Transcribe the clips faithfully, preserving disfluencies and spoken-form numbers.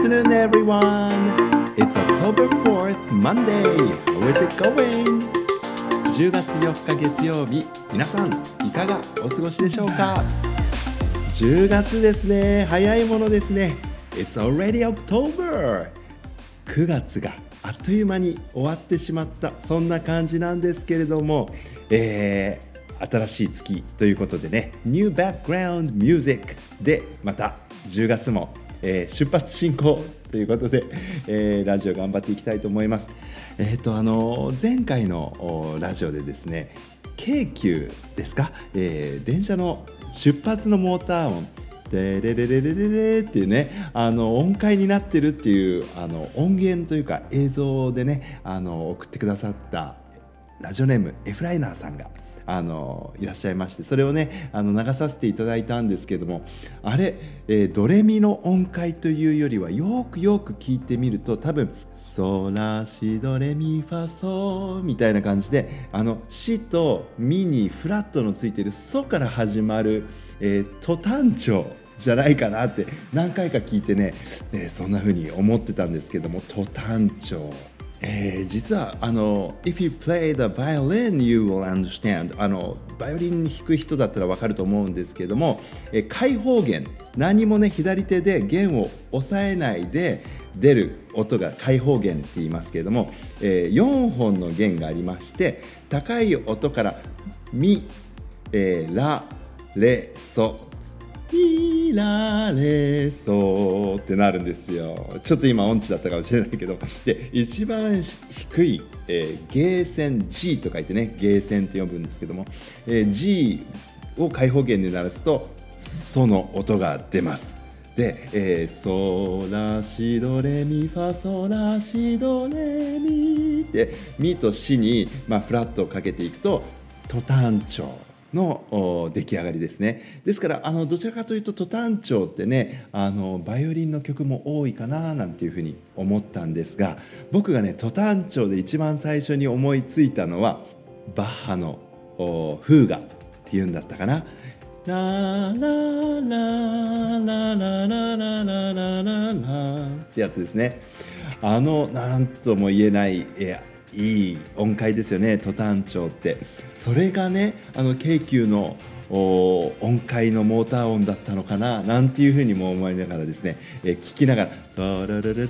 afternoon, everyone. It's October fourth, Monday. How is it going? じゅうがつよっか月曜日、皆さんいかがお過ごしでしょうか？じゅうがつですね。早いものですね。It's already October. くがつがあっという間に終わってしまった、そんな感じなんですけれども、えー、新しい月ということでね、New Background Music でまたじゅうがつも、えー、出発進行ということで、えー、ラジオ頑張っていきたいと思います。えっとあの前回のラジオでですね、京急ですか、えー、電車の出発のモーター音デレレレレレレっていうね、あの音階になってるっていうあの音源というか映像でね、あの送ってくださったラジオネームエフライナーさんがあのいらっしゃいまして、それをねあの流させていただいたんですけども、あれ、えー、ドレミの音階というよりはよくよく聞いてみると、多分ソラシドレミファソみたいな感じで、あのシとミにフラットのついているソから始まる、えー、ト短調じゃないかなって何回か聞いてね、えー、そんな風に思ってたんですけども、ト短調、えー、実はあの If you play the violin you will understand、 あのバイオリン弾く人だったら分かると思うんですけども、えー、開放弦、何もね左手で弦を押さえないで出る音が開放弦って言いますけれども、えー、よんほんの弦がありまして、高い音からミ、えー、ラ、レ、ソ、ミラレソってなるんですよ。ちょっと今音痴だったかもしれないけど、で一番低い、えー、ゲー線 G と書いてね、ゲー線って呼ぶんですけども、えー、G を開放弦で鳴らすとソの音が出ます。で、えー、ソラシドレミファソラシドレミってミとシに、まあ、フラットをかけていくとト短調の出来上がりですね。ですからあのどちらかというとト短調ってね、あのバイオリンの曲も多いかななんていうふうに思ったんですが、僕がねト短調で一番最初に思いついたのはバッハのフーガっていうんだったかな。ラララララララララララってやつですね。あのなんとも言えないえいい音階ですよね、ト短調って。それがね、あの京急の音階のモーター音だったのかななんていうふうにも思いながらですね、え聞きながらタラララララララララ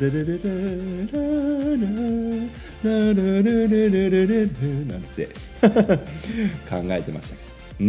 ラララララララなんつって考えてました。うん、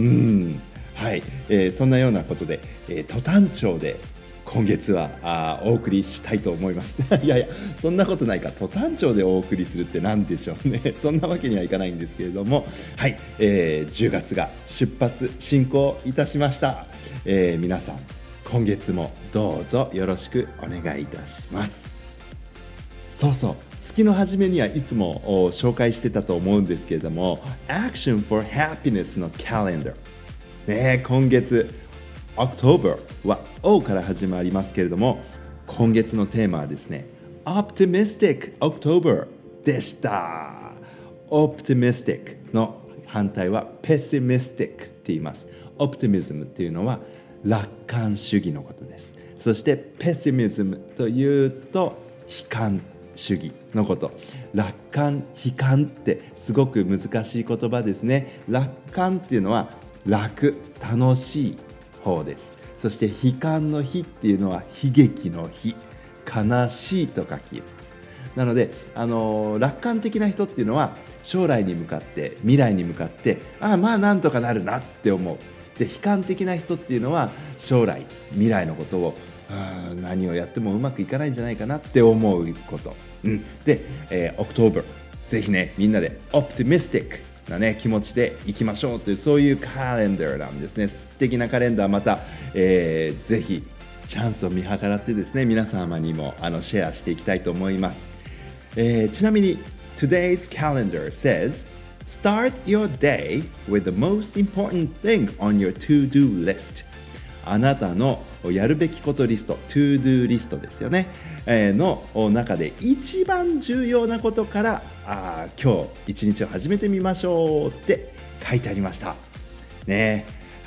はい、えー、そんなようなことで、えー、ト短調で今月はあお送りしたいと思いますいやいや、そんなことないか、ト短調でお送りするって何でしょうねそんなわけにはいかないんですけれども、はい、えー、じゅうがつが出発進行いたしました。えー、皆さん今月もどうぞよろしくお願いいたします。そうそう、月の初めにはいつも紹介してたと思うんですけれども、 Action for Happiness の Calendar、ね、今月October は O から始まりますけれども、今月のテーマはですね Optimistic October でした。 Optimistic の反対は Pessimistic って言います。 Optimism っていうのは楽観主義のことです。そして Pessimism というと悲観主義のこと。楽観、悲観ってすごく難しい言葉ですね。楽観っていうのは楽、楽しい方です。そして悲観の悲っていうのは悲劇の悲、悲しいと書きます。なので、あのー、楽観的な人っていうのは将来に向かって、未来に向かってああまあなんとかなるなって思う。で、悲観的な人っていうのは将来、未来のことをあ何をやってもうまくいかないんじゃないかなって思うこと、うん、で、えー、October ぜひねみんなで Optimisticなね、気持ちでいきましょうという、そういうカレンダーなんですね。素敵なカレンダー、また、えー、ぜひチャンスを見計らってですね、皆様にもあのシェアしていきたいと思います。えー、ちなみに Today's calendar says Start your day with the most important thing on your to-do list。 あなたのやるべきことリスト、To-do リストですよね、えー、の中で一番重要なことからあ今日一日を始めてみましょうって書いてありましたね。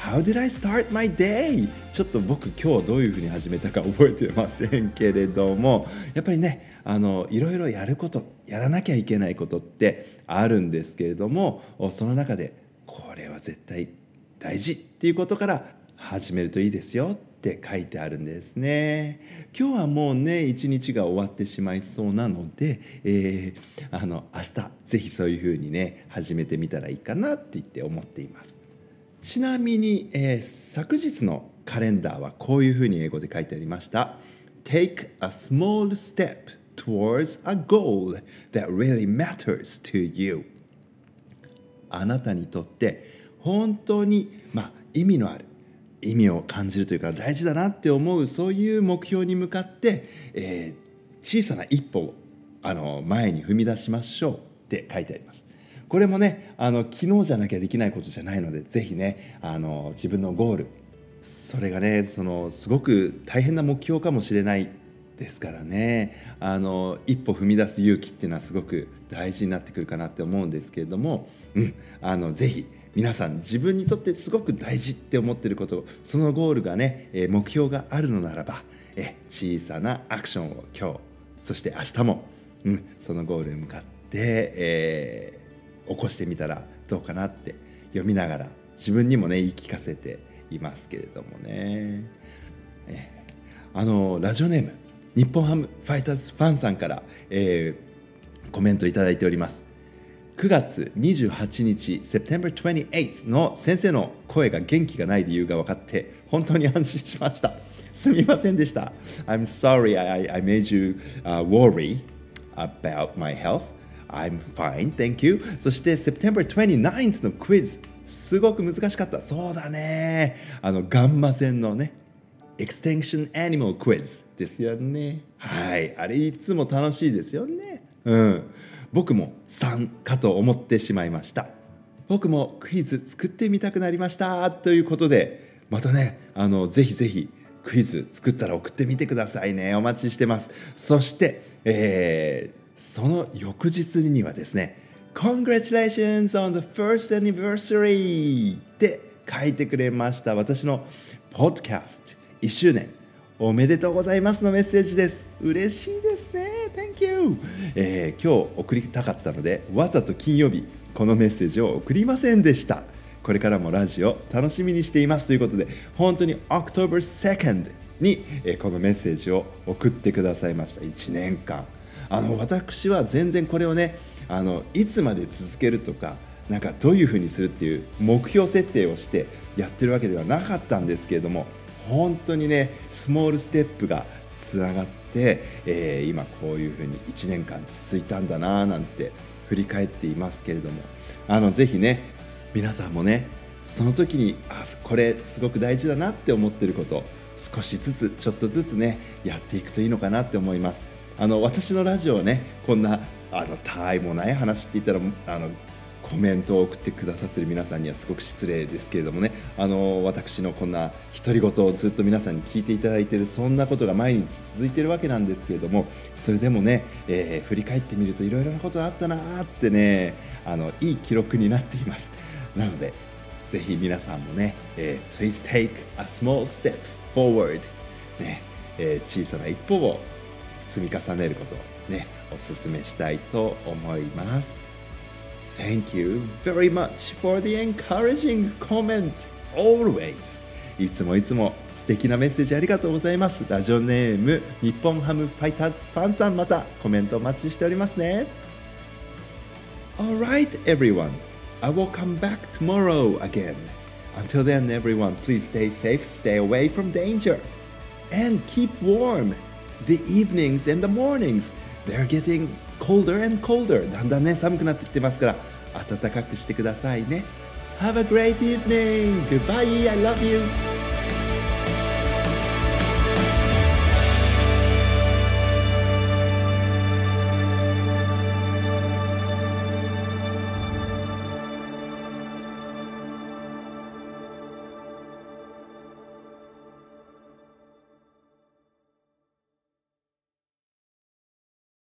How did I start my day? ちょっと僕今日どういうふうに始めたか覚えてませんけれども、やっぱりね、あのいろいろやること、やらなきゃいけないことってあるんですけれども、その中でこれは絶対大事っていうことから始めるといいですよって書いてあるんですね。今日はもうね一日が終わってしまいそうなので、えー、あの明日ぜひそういうふうにね始めてみたらいいかなって言って思っています。ちなみに、えー、昨日のカレンダーはこういうふうに英語で書いてありました。 Take a small step towards a goal that really matters to you。 あなたにとって本当に、まあ、意味のある意味を感じるというか大事だなって思うそういう目標に向かって、えー、小さな一歩をあの前に踏み出しましょうって書いてあります。これもねあの昨日じゃなきゃできないことじゃないので、ぜひねあの自分のゴール、それがねそのすごく大変な目標かもしれないですからね、あの一歩踏み出す勇気っていうのはすごく大事になってくるかなって思うんですけれども、うん、あのぜひ皆さん自分にとってすごく大事って思っていること、そのゴールがね目標があるのならば、え小さなアクションを今日そして明日も、うん、そのゴールに向かって、えー起こしてみたらどうかなって読みながら自分にもね言い聞かせていますけれどもね。えあのラジオネーム日本ハムファイターズファンさんから、えー、コメントいただいております。くがつにじゅうはちにち September twenty-eighth の先生の声が元気がない理由が分かって本当に安心しました。すみませんでした。 I'm sorry I, I made you、uh, worry about my health.I'm fine, thank you. そして September twenty-ninth のクイズすごく難しかった。そうだね、あのガンマ線のね Extinction Animal Quiz ですよね。はい、あれいつも楽しいですよね。うん、僕もさんかと思ってしまいました。僕もクイズ作ってみたくなりましたということで、またねあのぜひぜひクイズ作ったら送ってみてくださいね。お待ちしてます。そして、えーその翌日にはですね Congratulations on the first anniversary って書いてくれました。私のポッドキャストいっしゅうねんおめでとうございますのメッセージです。嬉しいですね。 Thank you、えー、今日送りたかったのでわざと金曜日このメッセージを送りませんでした。これからもラジオ楽しみにしていますということで、本当に October second に、えー、このメッセージを送ってくださいました。いちねんかんあの私は全然これをねあのいつまで続けるとかなんかどういうふうにするっていう目標設定をしてやってるわけではなかったんですけれども、本当にねスモールステップがつながって、えー、今こういうふうにいちねんかん続いたんだななんて振り返っていますけれども、あのぜひね皆さんもねその時にあこれすごく大事だなって思ってること少しずつちょっとずつねやっていくといいのかなって思います。あの私のラジオをねこんなあのたわいもない話って言ったらあのコメントを送ってくださっている皆さんにはすごく失礼ですけれどもね、あの私のこんな独り言をずっと皆さんに聞いていただいている、そんなことが毎日続いているわけなんですけれども、それでもね、えー、振り返ってみるといろいろなことあったなーってね、あのいい記録になっています。なのでぜひ皆さんもね、えー、Please take a small step forward、ねえー、小さな一歩を積み重ねることをねお勧めしたいと思います。 Thank you very much for the encouraging comment always。 いつもいつも素敵なメッセージありがとうございます。ラジオネーム日本ハムファイターズファンさん、またコメントお待ちしておりますね。 Alright everyone, I will come back tomorrow again. Until then everyone, please stay safe, stay away from danger and keep warm.The evenings and the mornings, they're getting colder and colder. だんだんね寒くなってきてますから暖かくしてくださいね。Have a great evening. Goodbye. I love you.